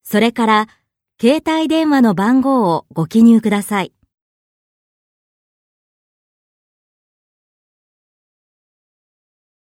それから携帯電話の番号をご記入ください。